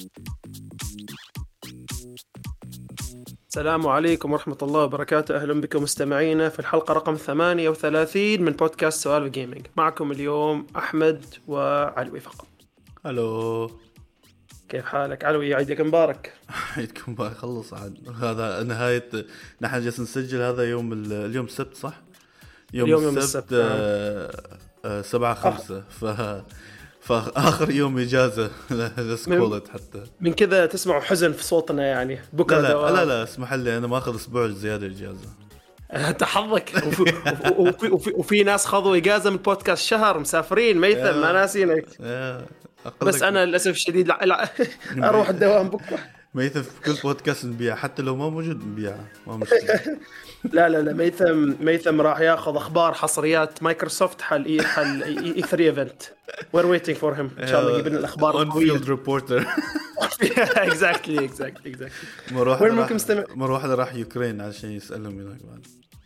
السلام عليكم ورحمة الله وبركاته. أهلا بكم مستمعينا في الحلقة رقم 38 من بودكاست سوالف جيمنج. معكم اليوم أحمد وعلوي فقط. هلو، كيف حالك علوي؟ عيدك مبارك. عيدكم مبارك. خلص عاد هذا نهاية. نحن جالس نسجل هذا يوم اليوم السبت صح؟ يوم السبت 7/5 فآخر يوم إجازة لسكولت حتى من كذا تسمعوا حزن في صوتنا يعني بكرة. لا اسمح لي أنا ما أخذ أسبوع زيادة إجازة. أنت حظك. وفي ناس خذوا إجازة من بودكاست شهر مسافرين ميثم ما ناسينك. بس أنا للأسف الشديد أروح الدوام بكرة. ميثم في كل بودكاست نبيع حتى لو ما موجود نبيع ما مشكلة. لا ميثم راح ياخذ اخبار حصريات مايكروسوفت حل E3 ايفنت. we're waiting for him ان شاء الله يجيب لنا الاخبار القوية. on field reporter. exactly. وين ممكن مروح راح يوكرين عشان يسألهم هناك بعد.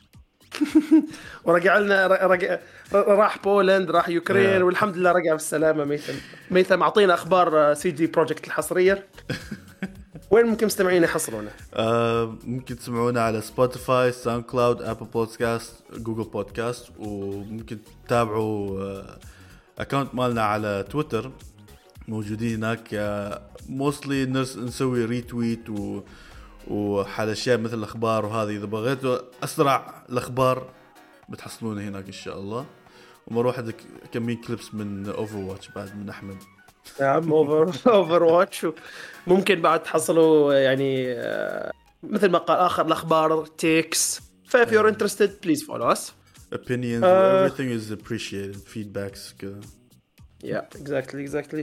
ورجع لنا راح بولند راح يوكرين والحمد لله رجع بالسلامة. ميثم اعطينا اخبار سي جي بروجكت الحصرية. وين ممكن مستمعين يحصلونه؟ ممكن تسمعونا على سبوتيفاي، ساوند كلاود، ابل بودكاست، جوجل بودكاست، وممكن تتابعوا اكاونت مالنا على تويتر موجودين هناك. موستلي نسوي ريتويت وحال اشياء مثل الاخبار وهذه. اذا بغيتوا اسرع الاخبار بتحصلونه هناك ان شاء الله. ومروح عندك كمين كليبس من اوفر واتش بعد من احمد. نعم اوفر واتش. ممكن بعد تحصلوا يعني مثل ما قال آخر الأخبار تيكس. if you're interested please follow us. Opinions everything is appreciated. Feedbacks كذا. Yeah, exactly.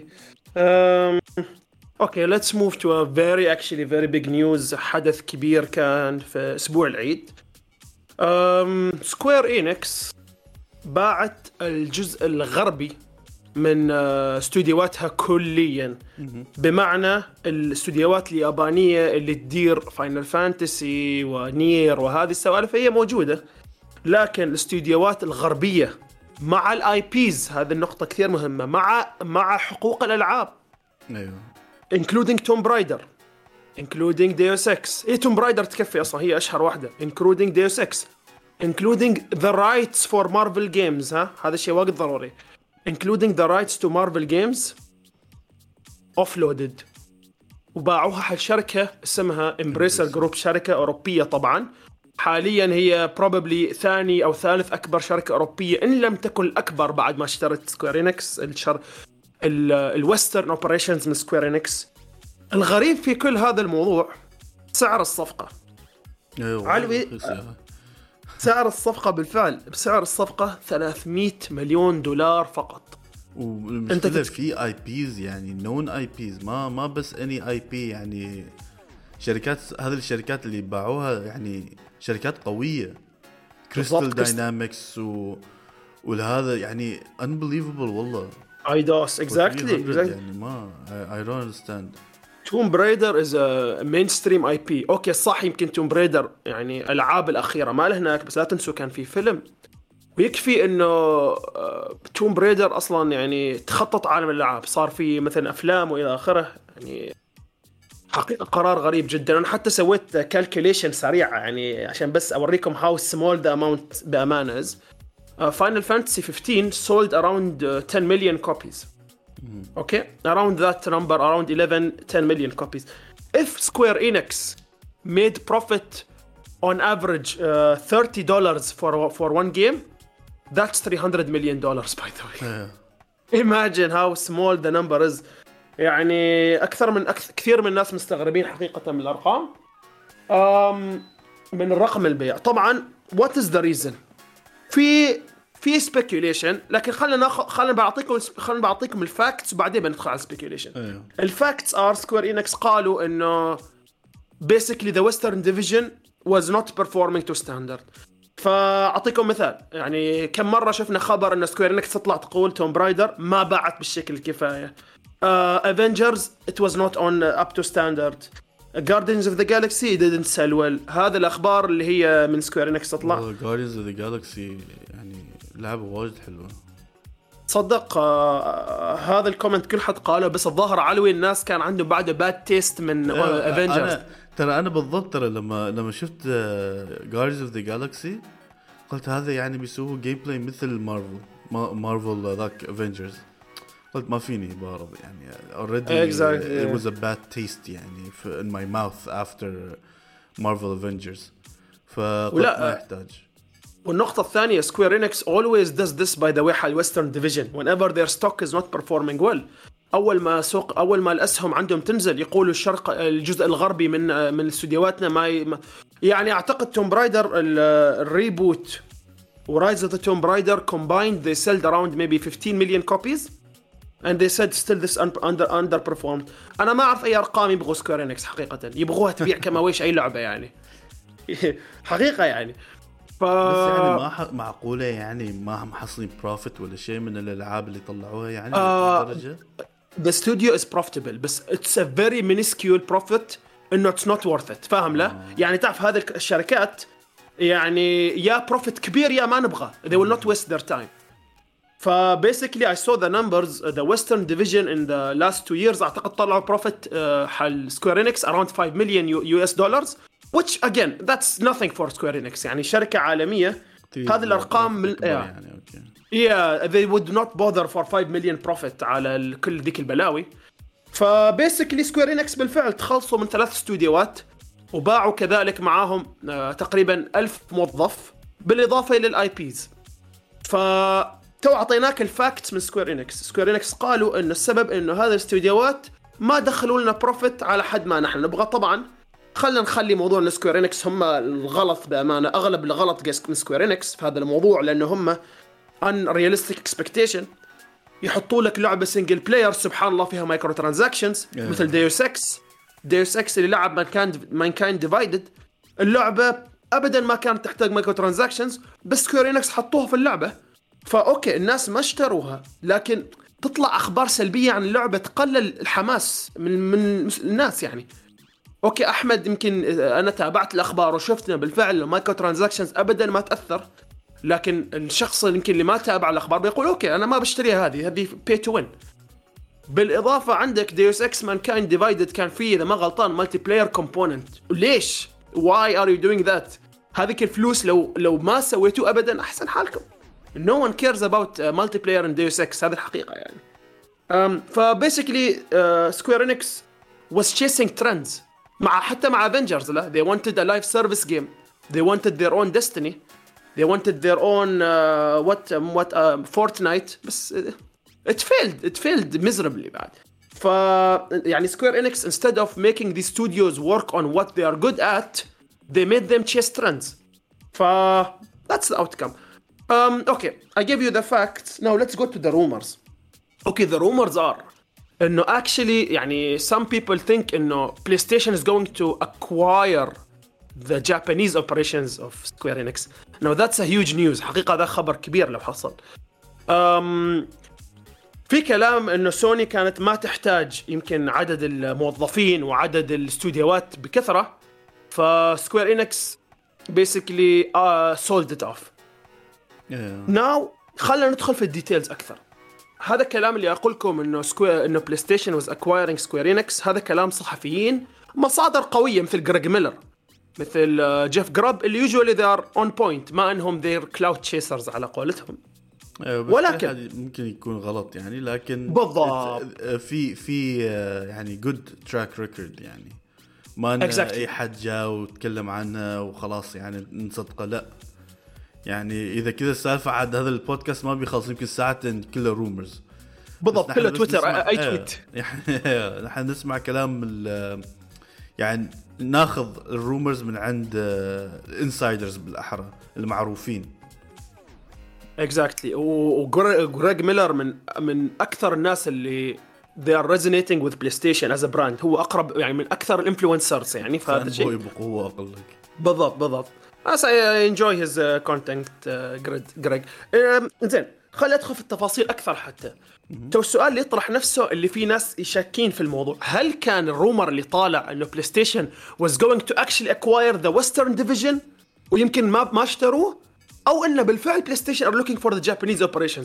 Okay, let's move to a very big news. حدث كبير كان في أسبوع العيد. سكوير إينكس باعت الجزء الغربي من استوديوهاتها كليا. بمعنى الاستوديوهات اليابانية اللي تدير فاينل فانتسي ونير وهذه السوالف هي موجودة، لكن الاستوديوهات الغربية مع الاي بيز، هذه النقطة كثير مهمة، مع حقوق الألعاب including Tomb Raider including Deus Ex. Tomb Raider تكفي أصلا هي أشهر واحدة including Deus Ex including the rights for Marvel games. هذا الشيء واجد ضروري. including the rights to Marvel games offloaded وباعوها حق شركة اسمها Embracer Group، شركة أوروبية طبعا. حاليا هي probably ثاني أو ثالث أكبر شركة أوروبية إن لم تكن الأكبر بعد ما اشترت سكوير إنكس الويسترن اوبريشنز من سكوير إنكس. الغريب في كل هذا الموضوع سعر الصفقة. علوي سعر الصفقة بالفعل بسعر الصفقة $300 مليون فقط. والمشكلة في اي بيز يعني نون اي بيز ما بس اني اي بي يعني شركات. هذه الشركات اللي باعوها يعني شركات قوية، كريستال داينامكس وهذا يعني unbelievable والله. ايدوس exactly يعني ما I don't understand. توم برايدر is a mainstream IP. اوكي صح، يمكن توم برايدر يعني الألعاب الأخيرة ما له هناك، بس لا تنسوا كان في فيلم. ويكفي انه توم برايدر اصلا يعني تخطط عالم الألعاب، صار في مثلا افلام والى اخره. يعني حقيقة قرار غريب جدا. انا حتى سويت كالكوليشن سريعة يعني عشان بس اوريكم how small the amount بأمانة is. Final Fantasy 15 sold around 10 million copies. Okay, around that number, around 10 million copies. If Square Enix made profit on average $30 for one game, that's $300 million by the way. Imagine how small the number is. يعني كثير من الناس مستغربين حقيقة من الأرقام. من الرقم البيع طبعا. What is the reason؟ في speculation، لكن خلنا بعطيكم الفاكتس وبعدين بندخل على speculation. الفاكتس Square Enix قالوا إنه basically the Western division was not performing to standard. فأعطيكم مثال، يعني كم مرة شفنا خبر إن سكوير إنكس تطلع تقول توم برايدر ما باعت بالشكل الكفاية. Avengers it was not on up to standard. Guardians of the Galaxy didn't sell well. هذا الأخبار اللي هي من سكوير إنكس تطلع. Guardians of the Galaxy يعني لعبة واجد حلوة تصدق هذا الكومنت كل حد قاله، بس الظاهر علوي الناس كان عندهم بعده باد تيست من افنجرز. انا بالضبط ترى لما شفت جاردينز اوف ذا جالاكسي قلت هذا يعني بيسووا جيم بلاي مثل مارفل ذاك افنجرز. قلت ما فيني بعرض يعني already it was a bad taste يعني in my mouth after Marvel Avengers. فقلت ما يحتاج. والنقطة الثانية سكوير إنكس always does this by the way على Western Division whenever their stock is not performing well. أول ما الأسهم عندهم تنزل يقولوا الجزء الغربي من استوديوهاتنا ما يعني أعتقد توم برايدر الريبوت ورايز اوف ذا توم برايدر combined they sold around maybe 15 million copies and they said still this underperformed. أنا ما أعرف أي أرقام يبغوا سكوير إنكس حقيقة، يبغوها تبيع كما ويش أي لعبة يعني حقيقة يعني. بس يعني ما معقولة يعني ما محصلين بروفيت ولا شيء من الألعاب اللي طلعوها يعني درجة. The studio is profitable بس it's a very minuscule profit إنه it's not worth it. فاهم لا؟ يعني تعرف هذه الشركات يعني يا profit كبير يا ما نبغى. They will not waste their time. فباسically I saw the numbers the Western division in the last 2 years أعتقد طلعوا profit حال Square Enix around 5 million US dollars. which again that's nothing for Square Enix يعني شركة عالمية. هذه الأرقام يعني yeah they would not bother for 5 million profit على كل ذيك البلاوي. فباسically Square Enix بالفعل تخلصوا من 3 استوديوهات وباعوا كذلك معاهم تقريبا 1000 موظف بالإضافة للآي بيز. فتو أعطيناك الفاكتس من Square Enix قالوا إنه السبب إنه هذه الاستوديوهات ما دخلوا لنا بروفيت على حد ما نحن نبغى. طبعا خلنا نخلي موضوع السكوير إنكس هم الغلط بأمانة، أغلب الغلط من سكوير إنكس في هذا الموضوع لأنه هم unrealistic expectation. يحطوا لك لعبة سينجل بلاير سبحان الله فيها مايكرو ترانزاكشنز مثل ديوس اكس اللي لعب مانكايند ديفايدد. اللعبة أبدا ما كانت تحتاج مايكرو ترانزاكشنز بس سكوير إنكس حطوها في اللعبة فأوكي الناس ما اشتروها، لكن تطلع أخبار سلبية عن اللعبة تقلل الحماس من الناس يعني. اوكي احمد يمكن انا تابعت الاخبار وشفتنا بالفعل مايكرو ترانزاكشنز ابدا ما تاثر، لكن الشخص يمكن اللي ما تابع الاخبار بيقول اوكي انا ما بشتريها هذه بي تو وين. بالاضافه عندك ديوس اكس مانكايند ديفايدد كان فيه اذا ما غلطان مالتي بلاير كومبوننت. ليش واي ار يو دوينج ذات؟ هذيك الفلوس لو ما سويتوا ابدا احسن حالكم. no one cares about multiplayer in Deus Ex. هذه الحقيقه يعني. فباسically Square Enix was chasing trends حتى مع Avengers. لا they wanted a live service game, they wanted their own Destiny, they wanted their own Fortnite, بس it failed miserably بعد. يعني Square Enix instead of making these studios work on what they are good at, they made them chase trends. That's the outcome. Okay, I gave you the facts. Now let's go to the rumors. Okay, the rumors are إنه actually يعني some people think إنه PlayStation is going to acquire the Japanese operations of Square Enix. Now that's a huge news. حقيقة هذا خبر كبير لو حصل. في كلام إنه سوني كانت ما تحتاج يمكن عدد الموظفين وعدد الاستوديوهات بكثرة، فسكوير إنكس basically sold it off. Now خلنا ندخل في الديتيلز أكثر. هذا الكلام اللي أقولكم إنه بلاي ستيشن was acquiring Square Enix هذا كلام صحفيين مصادر قوية مثل جريج ميلر مثل جيف جراب اللي usually they are on point ما أنهم they're cloud chasers على قولتهم. ولكن ممكن يكون غلط يعني، لكن بالضبط في يعني good track record يعني ما أي حد جاء وتكلم عنها وخلاص يعني نصدقه. لا يعني إذا كذا السالفة عاد هذا البودكاست ما بيخلص يمكن ساعتين كله رومرز. بالضبط كله تويتر أي تويت يعني نحن نسمع كلام يعني ناخذ الرومرز من عند الانسايدرز بالأحرى المعروفين. exactly. وجريج ميلر من أكثر الناس اللي they are resonating with PlayStation as a brand. هو أقرب يعني من أكثر الانفلونسرز يعني فهذا الشيء. هو أقلك. بالضبط. I enjoy his content Greg. إنزين خلي أدخل في التفاصيل أكثر حتى. تو السؤال اللي يطرح نفسه اللي في ناس يشكين في الموضوع، هل كان الرومر اللي طالع إنه PlayStation was going to actually acquire the Western division ويمكن ما اشتروه، أو إنه بالفعل PlayStation are looking for the Japanese operations؟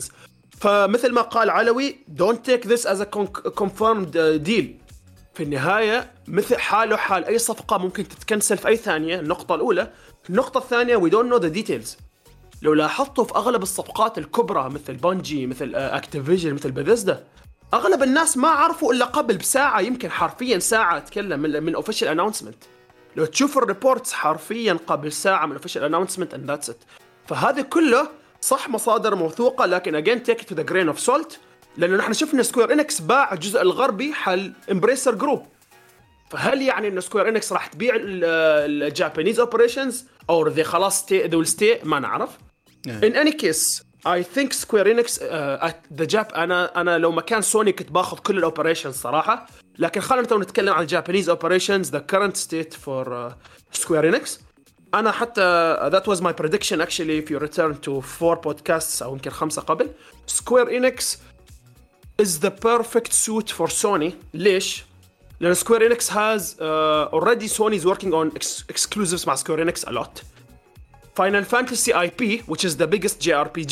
فمثل ما قال علوي don't take this as a confirmed deal. في النهاية مثل حاله حال أي صفقة ممكن تتكنسل في أي ثانية. النقطة الأولى. النقطة الثانية we don't know the details. لو لاحظتوا في أغلب الصفقات الكبرى مثل بانجي مثل أكتيفيجن مثل بثيسدا أغلب الناس ما عرفوا إلا قبل بساعة يمكن حرفيا ساعة أتكلم من official announcement. لو تشوف الريبورتس حرفيا قبل ساعة من official announcement and that's it. فهذا كله صح مصادر موثوقة لكن again take it to the grain of salt لأنه نحن شفنا سكوير إنكس باع الجزء الغربي حل إمبريسر جروب. فهل يعني إنه سكوير إنكس راح تبيع الجابانيز اوبريشنز أو they خلاص they will stay ما نعرف. In any case I think Square Enix at the Jap أنا لو مكان سوني كنت باخذ كل الأوبريشنز صراحة لكن خلينا نتكلم عن الجابانيز اوبريشنز the current state for Square Enix. أنا حتى that was my prediction actually if you return to 4 podcasts أو يمكن 5 قبل. Square Enix is the perfect suit for Sony. ليش؟ لأن Square Enix has already Sony is working on exclusives مع Square Enix a lot. Final Fantasy IP which is the biggest JRPG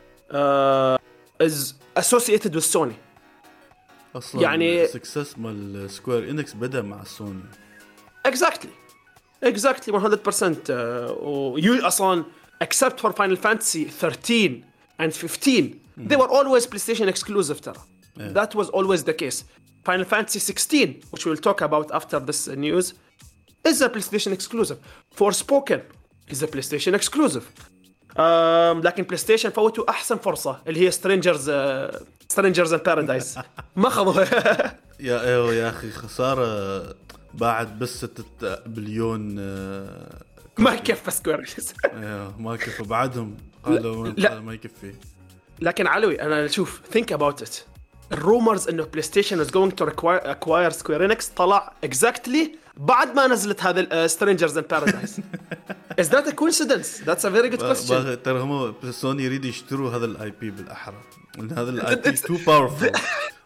is associated with Sony. أصلاً يعني success مال Square Enix بدأ مع Sony. Exactly 100%. You أصلاً except for Final Fantasy 13 and 15 they were always PlayStation exclusive ترى. That was always the case. Final Fantasy 16 which we'll talk about after this news is a PlayStation exclusive. Forspoken is a PlayStation exclusive. لكن PlayStation فوتوا أحسن فرصة اللي هي Strangers in Paradise ما خذوها. يا أخي خسارة بعد بس 6 بليون ما يكفي سكوير. ما يكفي بعدهم قالوا ما يكفي. لكن علوي أنا شوف think about it. الرومرز إنه PlayStation is going to acquire Square Enix طلع exactly بعد ما نزلت هذا Strangers in Paradise. Is that a coincidence? That's a very good question. ترى هم سوني يريد يشتروا هذا الاي بي بالاحرى لان هذا الاي بي too powerful.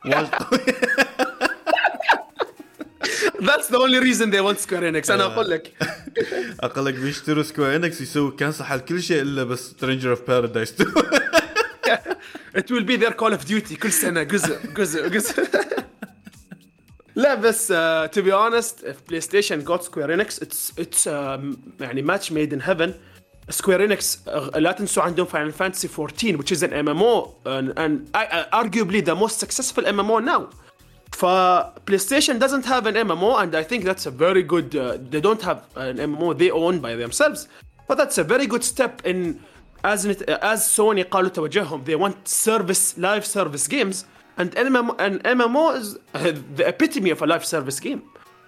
That's the only reason they want Square Enix. أنا أقول لك بيشتروا Square Enix يسوي كانسل حال كل شيء إلا بس Stranger of Paradise. It will be their Call of Duty كل سنة جزء. لا بس to be honest if PlayStation got Square Enix it's يعني match made in heaven. Square Enix لا تنسوا عندهم Final Fantasy 14 which is an MMO and arguably the most successful MMO now. PlayStation doesn't have an MMO and I think that's a very good they don't have an MMO they own by themselves but that's a very good step in as Sony قالوا توجههم they want live service games and MMO is the epitome of a live service game.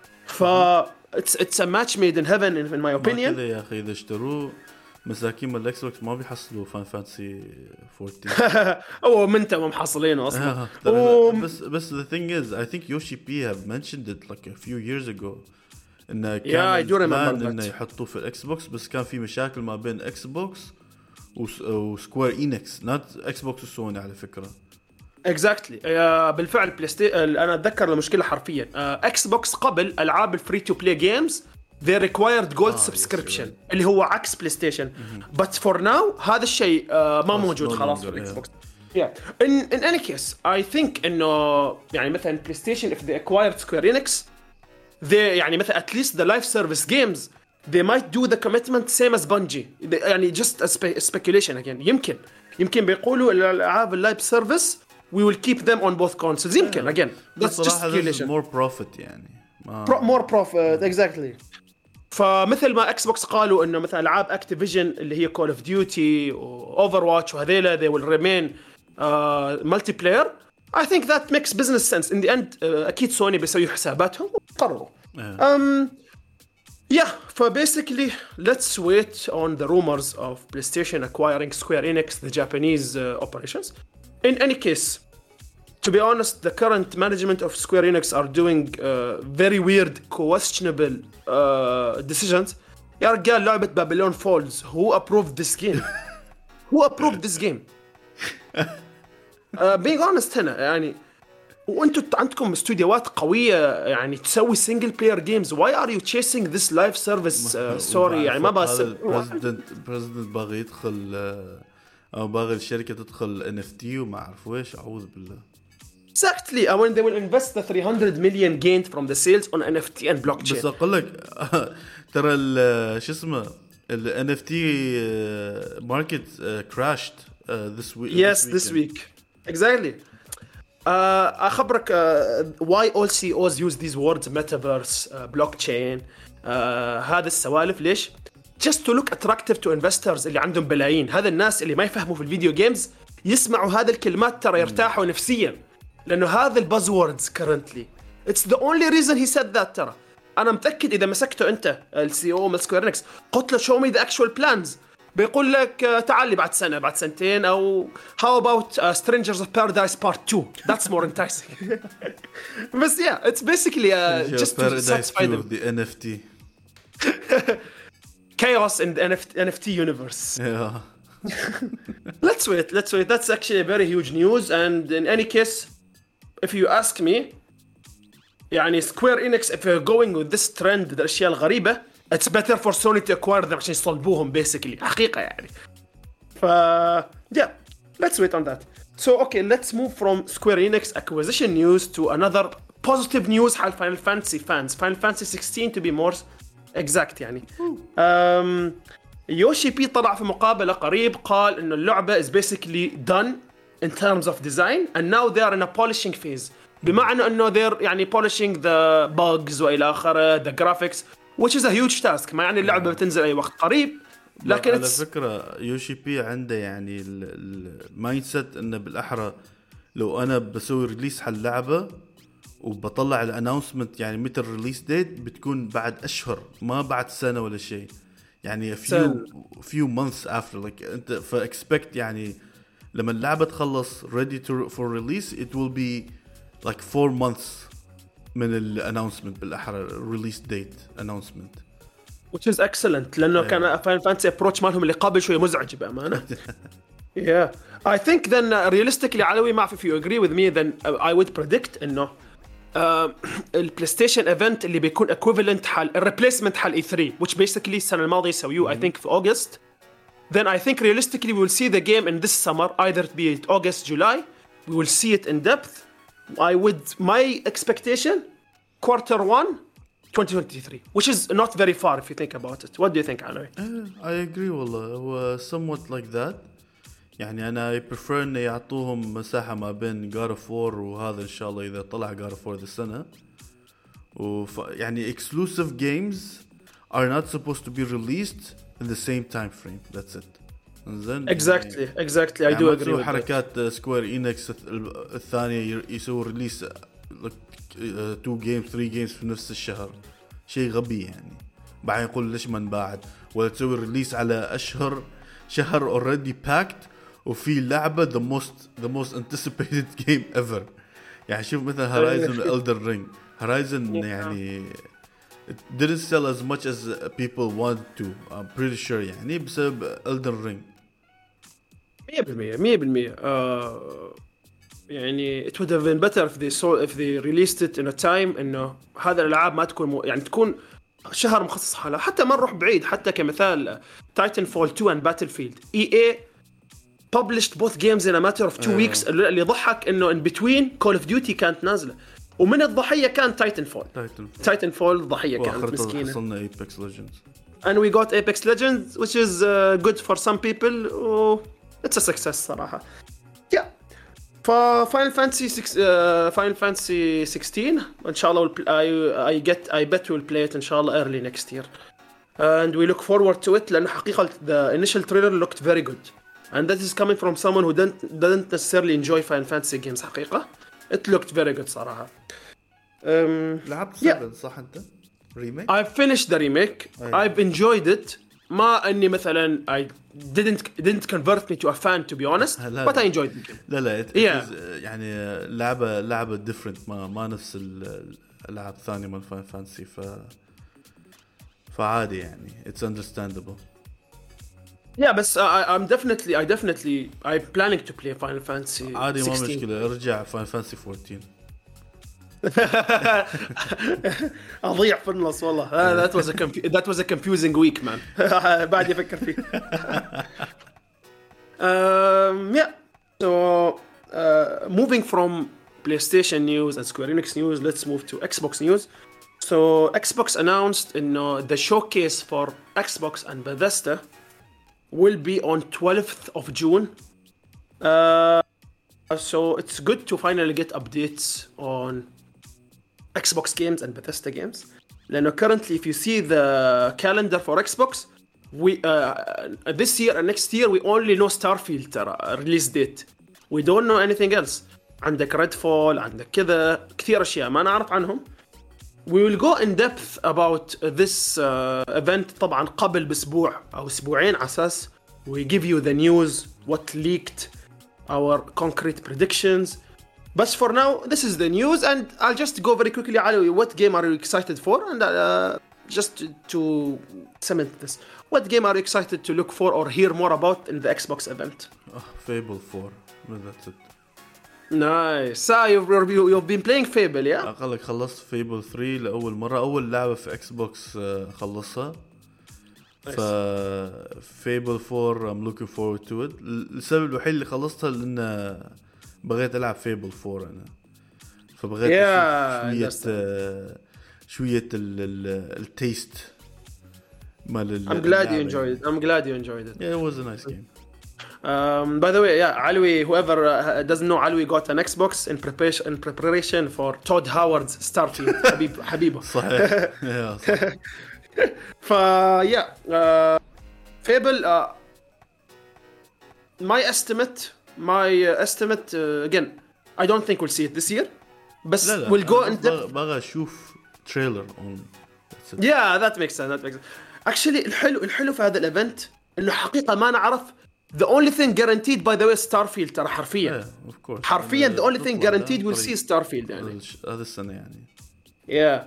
It's a match made in heaven in my opinion. كذا يا أخي إذا اشتروا مساكين من الإكس بوكس ما بيحصلوا Final Fantasy 14. أو منتم محصلينه أصلاً. بس the thing is I think Yoshi P have mentioned it like a few years ago إنه كان plan إنه يحطوه في الإكس بوكس بس كان في مشاكل ما بين إكس بوكس وسكوير إينكس not إكس بوكس وسوني على فكرة. exactly بالفعل أنا أتذكر المشكلة حرفيا إكس بوكس قبل ألعاب الفري تو بلاي جيمز they required gold subscription اللي هو عكس بلاي ستيشن but for now هذا الشيء ما موجود خلاص في الإكس بوكس. in any case I think إنه يعني مثلا بلاي ستيشن if they acquired Square Enix they يعني مثلا at least the live service games they might do the commitment same as Bungie يعني just a speculation again يمكن بيقولوا الألعاب اللايف سيرفيس we will keep them on both consoles يمكن again that's just speculation. more profit يعني more profit exactly. فمثل ما اكس بوكس قالوا انه مثلا العاب اكتيفيجن اللي هي كول اوف ديوتي واوفر واتش وهذيلا they will remain multiplayer. I think that makes business sense in the end. اكيد سوني بيسوي حساباتهم وقرروا so basically let's wait on the rumors of PlayStation acquiring Square Enix, the Japanese operations. In any case, to be honest, the current management of Square Enix are doing very weird, questionable decisions. يا رجال لعبة بابلون فولز who approved this game? Who approved this game? being honest هنا يعني وانتوا عندكم استوديوهات قوية يعني تسوي single player games. Why are you chasing this live service story؟ يعني ما بس president باغي يدخل او باغي الشركه تدخل NFT وما اعرف ويش، اعوذ بالله. Exactly. I mean, they will invest the 300 million gained from the sales on NFT and blockchain. بس اقول لك ترى شو اسمه ال NFT market crashed this week. Yes, this week. Exactly. أخبرك why all CEOs use these words metaverse, blockchain, هذا السوالف ليش؟ Just to look attractive to investors اللي عندهم بلايين. هذا الناس اللي ما يفهموا في الفيديو جيمز يسمعوا هذه الكلمات ترى يرتاحوا نفسيا، لأنه هذا البازوردز currently. It's the only reason he said that ترى. أنا متأكد إذا مسكته أنت السي او من سكوير إنكس قلت له show me the actual plans بيقول لك تعال لي بعد سنة بعد سنتين، أو how about Strangers of Paradise Part 2 that's more enticing. بس yeah, it's basically just to satisfy them. The NFT. Chaos in the NFT universe. Yeah. Let's wait. That's actually a very huge news, and in any case, if you ask me, يعني Square Enix, if you're going with this trend الأشياء الغريبة, it's better for Sony to acquire them عشان يصلبوهم basically حقيقة يعني. Yeah, let's wait on that. So okay, let's move from Square Enix acquisition news to another positive news حال Final Fantasy fans. Final Fantasy 16 to be more exact يعني. يوشي بي طلع في مقابلة قريب قال إنه اللعبة is basically done in terms of design and now they are in a polishing phase. بمعنى إنه they're يعني polishing the bugs وإلى آخره the graphics which is a huge task. ما يعني اللعبة بتنزل أي وقت قريب، لكن على فكرة يوشي بي عنده يعني المايند سيت إنه بالأحرى لو أنا بسوي ريليس حل لعبة وبطلع الاناونسمنت يعني متى الريليس ديت بتكون بعد أشهر ما بعد سنة ولا شيء، يعني few months after like أنت فاكسبكت يعني لما اللعبة تخلص ready for release it will be like 4 months من الاناونسمنت بالأحرى release date announcement which is excellent لأنه كان Final Fantasy approach مالهم اللي قبل شوية مزعج بأمانة. Yeah, I think then realistically علوي ما if you agree with me then I would predict إنه البلايستيشن ايفنت اللي بيكون equivalent حال الريبليسمنت حال E3 which basically السنة الماضية يسويوه I think في August, then I think realistically we will see the game in this summer either be it August, July, we will see it in depth. My expectation Q1 2023 which is not very far if you think about it. What do you think علوي؟ I agree والله هو somewhat like that. يعني أنا prefer إن يعطوهم مساحة ما بين God of War وهذا إن شاء الله إذا طلع God of War ذي السنة. يعني exclusive games are not supposed to be released in the same time frame. That's it. Exactly. I do agree with حركات سكوير إينكس الثانية يسوي ريليس 2 games 3 games في نفس الشهر، شيء غبي يعني. بعدين يقول ليش ما نباعد ولا تسوي ريليس على شهر already packed وفي لعبة the most anticipated game ever. يعني شوف مثلا Horizon Elden Ring. Horizon يعني it didn't sell as much as people want to. I'm pretty sure يعني بسبب Elden Ring. 100% يعني it would have been better if they released it in a time إنه هذا الألعاب ما تكون يعني تكون شهر مخصص حالها. حتى ما نروح بعيد، حتى كمثال Titanfall 2 and Battlefield EA published both games in a matter of 2 weeks. اللي ضحك إنه in between Call of Duty كانت نازلة ومن الضحية كان Titanfall الضحية كانت مسكينة. وصلنا Apex Legends and we got Apex Legends which is good for some people. It's a success صراحة. Yeah. Final Fantasy 16 إن شاء الله I bet we'll play it إن شاء الله early next year and we look forward to it لأنه حقيقة the initial trailer looked very good and that is coming from someone who didn't necessarily enjoy Final Fantasy games. حقيقة it looked very good صراحة. لعبت 7 صح أنت remake؟ I've finished the remake. I've enjoyed it. ما أني مثلا I didn't convert me to a fan to be honest but I enjoyed it. لا يعني لعبة different ما نفس الألعاب الثانية من Final Fantasy فعادي يعني it's understandable. Yeah بس I'm planning to play Final Fantasy 16. عادي ما مشكلة ارجع Final Fantasy 14. أضيع في النص والله. That was a confusing week man. بعد يفكر فيه. Yeah. So moving from PlayStation news and Square Enix news, let's move to Xbox news. So Xbox announced the showcase for Xbox and Bethesda will be on 12th of June. So it's good to finally get updates on Xbox games and Bethesda games. Lano currently, if you see the calendar for Xbox, we this year and next year we only know Starfield release date. We don't know anything else. عندك Redfall, عندك كذا كثير أشياء ما نعرف عنهم. We will go in depth about this event طبعا قبل بأسبوع أو أسبوعين على أساس we give you the news, what leaked, our concrete predictions. But for now, this is the news, and I'll just go very quickly. Ali, what game are you excited for? And just to cement this, what game are you excited to look for or hear more about in the Xbox event? Fable 4. That's it. Nice. So you've been playing Fable, yeah? أقلك خلصت Fable 3 لأول مرة. أول لعبة في Xbox خلصها. ف Fable 4 I'm looking forward to it. السبب الوحيد اللي خلصتها لأن بغيت ألعب Fable 4 أنا. فبغيت شوية التيست مال. I'm glad you enjoyed it. Yeah, it was a nice game. By the way, yeah, Alwi, whoever doesn't know, Alwi got an Xbox in preparation for Todd Howard's Starfield. Habiba. صحيح. Yeah, صحيح. Yeah, Fable, my estimate again, I don't think we'll see it this year, but we'll go in depth. بغى أشوف trailer on. Yeah, that makes sense. Actually الحلو في هذا الايفنت انه حقيقة ما نعرف. The only thing guaranteed, by the way, Starfield ترى حرفيا. Yeah, of course. حرفيا the only thing guaranteed we'll see Starfield يعني. هذا السنة يعني. Yeah.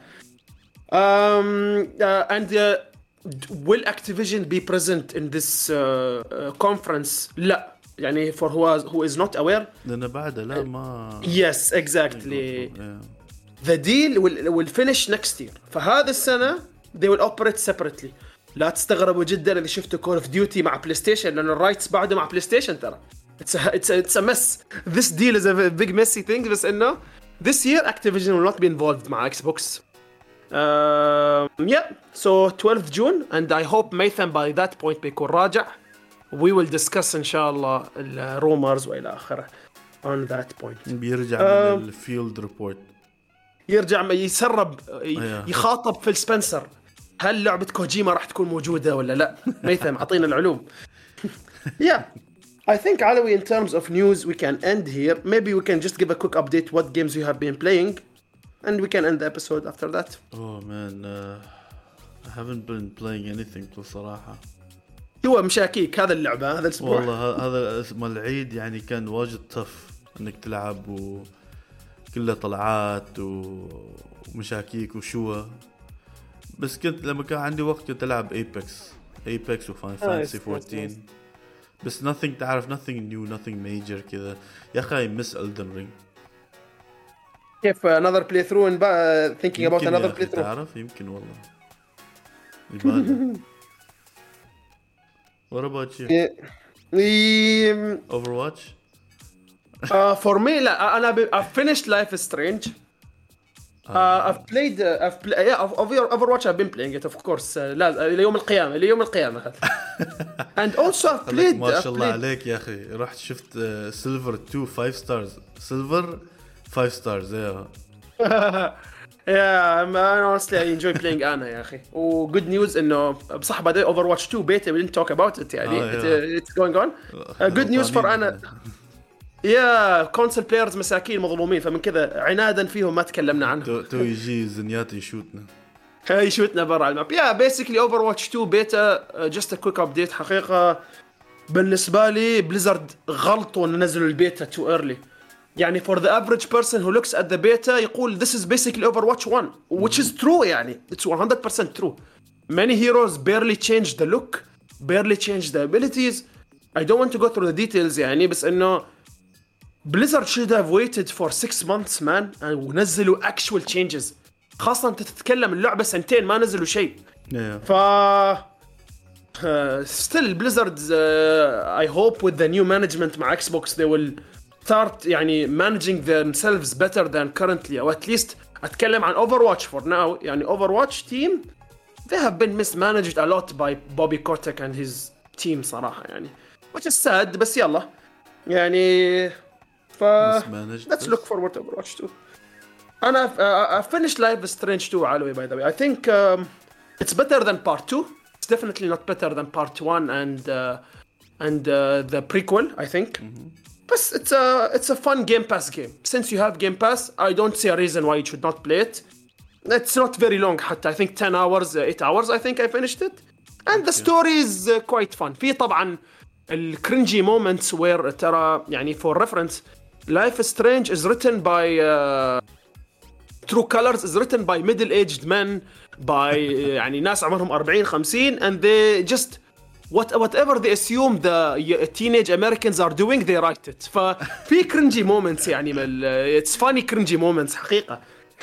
And will Activision be present in this conference? لا. يعني for who is not aware. لأن بعد لا ما. Yes, exactly. The deal will finish next year. فهذا السنة they will operate separately. لا تستغربوا جدا إذا شفتوا Call of Duty مع PlayStation لأن الرايتس بعده مع PlayStation ترى. It's a mess. This deal is a big messy thing. بس إنه this year Activision will not be involved مع Xbox. Yeah. So 12th June, and I hope Maytham by that point بيكون راجع. We will discuss إن شاء الله rumors وإلى آخره on that point. بيرجع من الفيلد ريبورت. يرجع يسرب يخاطب فيل سبنسر. هل لعبة كوجيما راح تكون موجودة ولا لا؟ ميثم عطينا العلوم. Yeah, I think Alawi, in terms of news we can end here. Maybe we can just give a quick update what games you have been playing, and we can end the episode after that. Oh man, I haven't been playing anything بصراحة. هو مشاكيك هذا اللعبة هذا الأسبوع. والله هذا اسم العيد يعني كان واجد طف إنك تلعب وكله طلعات ومشاكيك وشوة. بس كنت لما كان عندي وقت كنت ألعب Apex وفاين فانتسي 14. بس nothing new, nothing major كذا. يا أخي miss Elden Ring. كيف another playthrough and thinking about another playthrough. تعرف يمكن والله. يبالي. What about you? Overwatch? For me لا I've finished Life is Strange. I've played Overwatch. I've been playing it of course. لا ليوم القيامة. And also I've played. ما شاء الله عليك يا أخي. رحت شفت Silver 2 5 stars. Silver 5 stars. Yeah, honestly I enjoy playing أنا يا أخي. و good news إنه بصح بعد Overwatch 2 beta we didn't talk about it يعني. It's going on. Good news for أنا. يا كونسول بلايرز مساكين مظلومين فمن كذا عنادا فيهم ما تكلمنا عنهم. تو يجي زنيات يشوتنا برا الماب. يا بيسيكلي Overwatch 2 بيتا just a quick update. حقيقة بالنسبة لي بليزرد غلطوا ان نزلوا البيتا too early. يعني for the average person who looks at the beta يقول this is basically Overwatch 1 which is true يعني it's 100% true. Many heroes barely changed the look, barely changed the abilities. I don't want to go through the details يعني بس انه Blizzard should have waited for 6 months man ونزلوا actual changes. خاصة انت تتكلم اللعبة سنتين ما نزلوا شيء. still Blizzard I hope with the new management مع Xbox they will start يعني managing themselves better than currently, or at least أتكلم عن Overwatch for now. يعني Overwatch team they have been mismanaged a lot by Bobby Kotick and his team صراحة يعني, which is sad. بس يلا يعني let's look forward to Overwatch 2. أنا I finished Life is Strange 2 علوي by the way. I think it's better than part 2. It's definitely not better than part 1 and the prequel I think. But it's a fun Game Pass game. Since you have Game Pass, I don't see a reason why you should not play it. It's not very long حتى. I think 10 hours 8 hours I think I finished it. And the story is quite fun. في طبعا ال cringy moments where ترى يعني for reference Life is Strange is written by True Colors is written by middle-aged men by يعني ناس عمرهم 40 50 and they just whatever they assume the teenage Americans are doing they write it. ففي cringy moments يعني it's funny cringy moments حقيقة.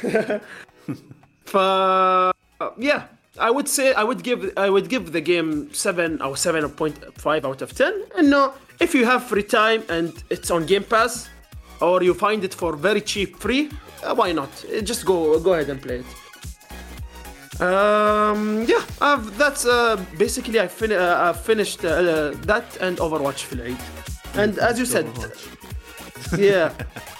Yeah, I would say I would give the game 7 or 7.5 out of 10. And no, if you have free time and it's on Game Pass or you find it for very cheap free, why not? Just go ahead and play it. Yeah, that's basically I've finished that and Overwatch في العيد. And as you said, yeah.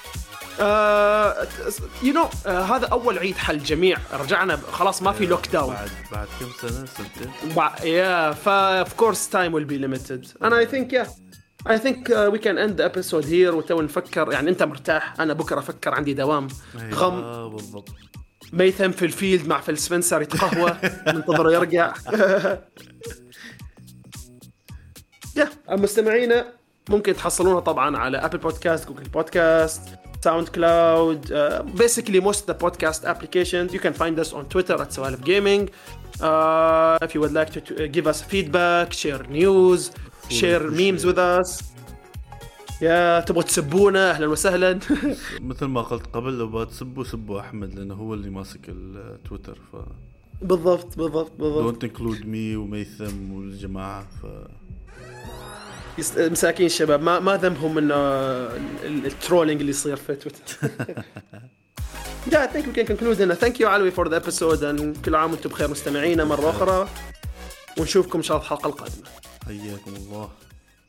You know هذا أول عيد حل الجميع, رجعنا خلاص ما في لوك داون. بعد كم سنة سنتين. Yeah, of course time will be limited. And I think we can end the episode here وتو نفكر يعني أنت مرتاح أنا بكرة أفكر عندي دوام غم. بالضبط. ميثم في الفيلد مع فيل سبنسر يتقهوى ننتظره يرجع. المستمعين ممكن تحصلونا طبعا على أبل بودكاست, جوجل بودكاست, ساوند كلاود, basically most of the podcast applications. You can find us on Twitter at Sawalif Gaming. If you would like to give us feedback, share news, share memes with us. يا تبغوا تسبونا اهلا وسهلا. مثل ما قلت قبل لو بتسبوا سبوا احمد لانه هو اللي ماسك التويتر. بالضبط don't include me وميثم والجماعه. مساكين الشباب ما ذنبهم من الترولينج اللي يصير في تويتر. Yeah, I think we can conclude هنا. Thank you علوي for the episode and كل عام وانتم بخير مستمعينا مرة أخرى ونشوفكم إن شاء الله الحلقة القادمة. حياكم الله.